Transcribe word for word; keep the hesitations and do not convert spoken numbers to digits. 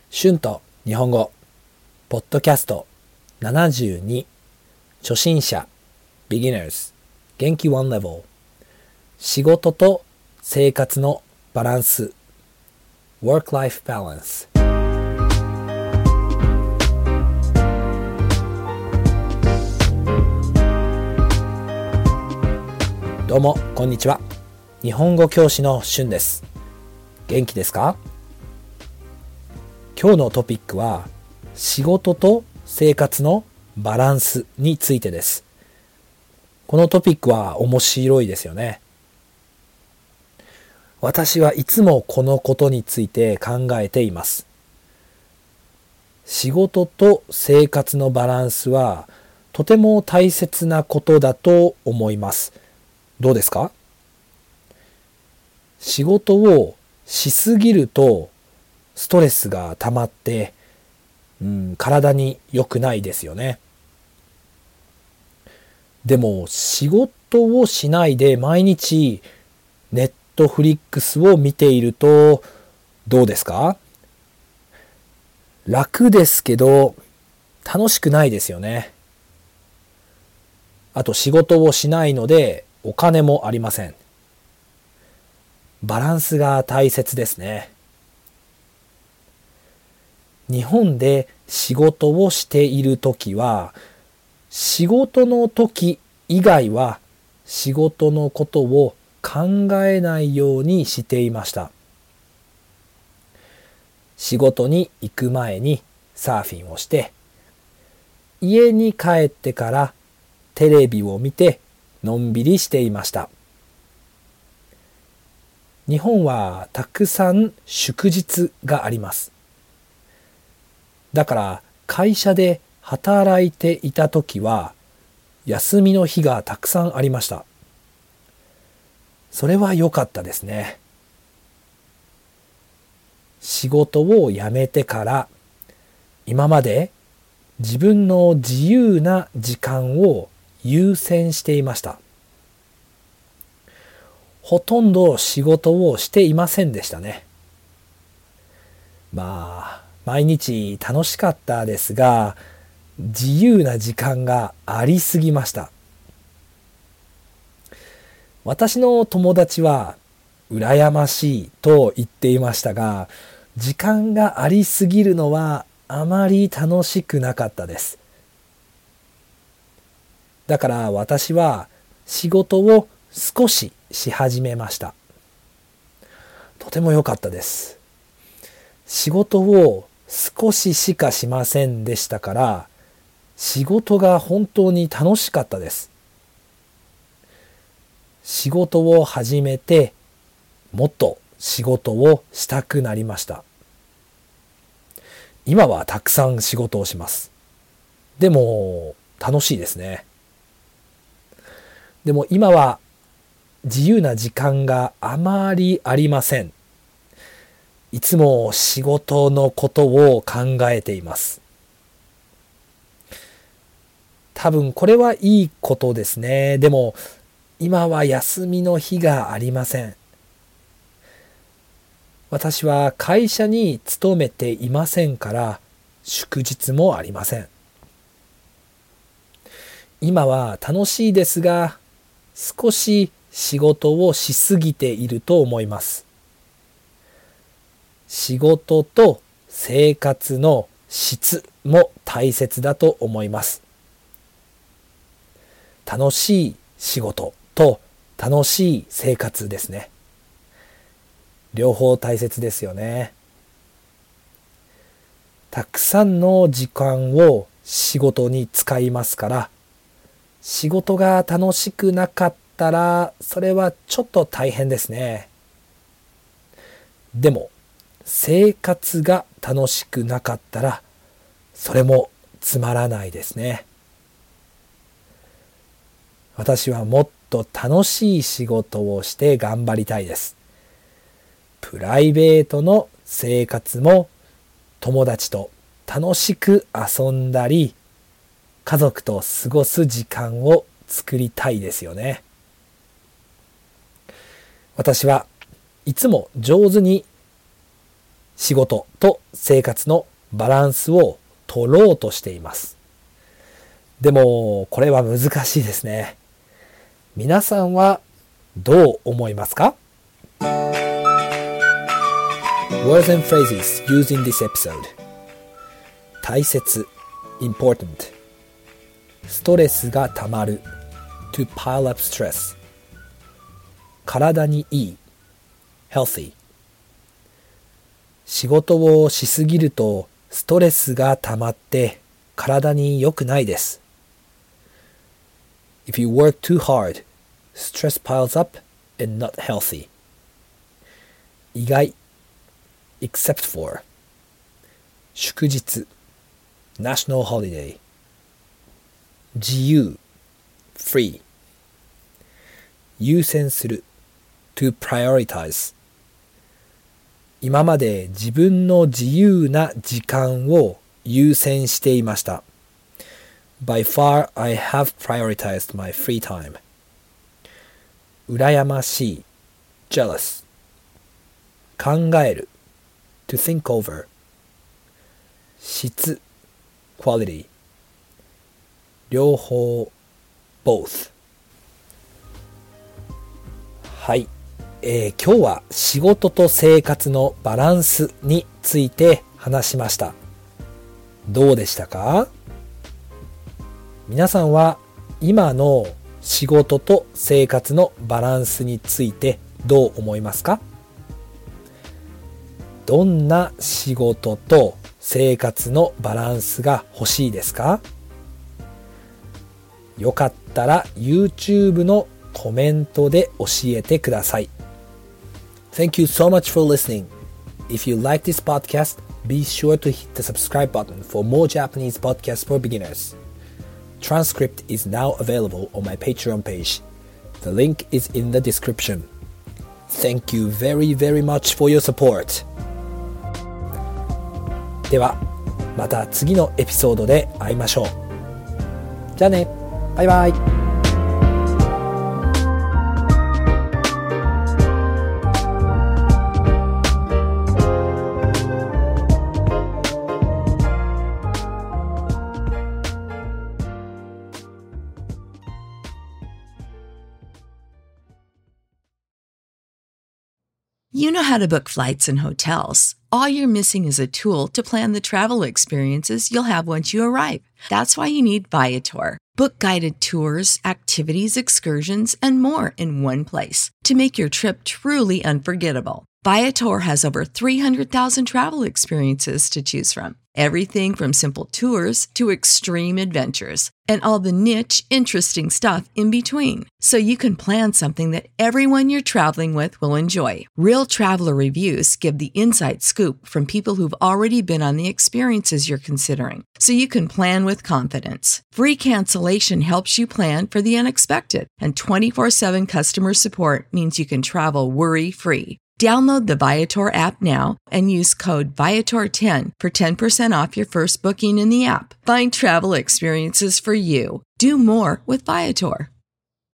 春と日本語ポッドキャストななじゅうに初心者 Beginners 元気ワンレベル仕事と生活のバランス Work-Life Balance。 どうもこんにちは。日本語教師の春です。元気ですか？今日のトピックは仕事と生活のバランスについてです。このトピックは面白いですよね。私はいつもこのことについて考えています。仕事と生活のバランスはとても大切なことだと思います。どうですか？仕事をしすぎるとストレスが溜まって、うん、体に良くないですよね。でも仕事をしないで毎日ネットフリックスを見ているとどうですか？楽ですけど楽しくないですよね。あと仕事をしないのでお金もありません。バランスが大切ですね。日本で仕事をしているときは、仕事の時以外は仕事のことを考えないようにしていました。仕事に行く前にサーフィンをして、家に帰ってからテレビを見てのんびりしていました。日本はたくさん祝日があります。だから会社で働いていたときは休みの日がたくさんありました。それは良かったですね。仕事を辞めてから今まで自分の自由な時間を優先していました。ほとんど仕事をしていませんでしたね。まあ毎日楽しかったですが、自由な時間がありすぎました。私の友達は羨ましいと言っていましたが、時間がありすぎるのはあまり楽しくなかったです。だから私は仕事を少しし始めました。とても良かったです。仕事を少ししかしませんでしたから、仕事が本当に楽しかったです。仕事を始めて、もっと仕事をしたくなりました。今はたくさん仕事をします。でも、楽しいですね。でも今は自由な時間があまりありません。いつも仕事のことを考えています。多分これはいいことですね。でも今は休みの日がありません。私は会社に勤めていませんから祝日もありません。今は楽しいですが少し仕事をしすぎていると思います。仕事と生活の質も大切だと思います。楽しい仕事と楽しい生活ですね。両方大切ですよね。たくさんの時間を仕事に使いますから、仕事が楽しくなかったらそれはちょっと大変ですね。でも生活が楽しくなかったらそれもつまらないですね。私はもっと楽しい仕事をして頑張りたいです。プライベートの生活も友達と楽しく遊んだり家族と過ごす時間を作りたいですよね。私はいつも上手に仕事と生活のバランスを取ろうとしています。でも、これは難しいですね。皆さんはどう思いますか？ Words and phrases used in this episode. 大切 important ストレスがたまる to pile up stress 体にいい healthy 仕事をしすぎるとストレスがたまって体に良くないです。If you work too hard, stress piles up and not healthy. 意外 except for 祝日 national holiday 自由 free 優先する to prioritize 今まで自分の自由な時間を優先していました。By far, I have prioritized my free time. 羨ましい jealous 考える to think over 質 quality 両方 both はい、えー、今日は仕事と生活のバランスについて話しました。どうでしたか？皆さんは今の仕事と生活のバランスについてどう思いますか？どんな仕事と生活のバランスが欲しいですか？よかったら YouTube のコメントで教えてください。Thank you so much for listening. If you like this podcast, be sure to hit the subscribe button for more Japanese podcasts for beginners. Transcript is now available on my Patreon page. The link is in the description. Thank you very, very much for your support. では、また次のエピソードで会いましょう。じゃあね、バイバイ。 You know how to book flights and hotels. All you're missing is a tool to plan the travel experiences you'll have once you arrive. That's why you need Viator. Book guided tours, activities, excursions, and more in one place to make your trip truly unforgettable. Viator has over three hundred thousand travel experiences to choose from. Everything from simple tours to extreme adventures and all the niche, interesting stuff in between. So you can plan something that everyone you're traveling with will enjoy. Real traveler reviews give the inside scoop from people who've already been on the experiences you're considering. So you can plan with confidence. Free cancellation helps you plan for the unexpected. And twenty-four seven customer support means you can travel worry-free. Download the Viator app now and use code Viator ten for ten percent off your first booking in the app. Find travel experiences for you. Do more with Viator.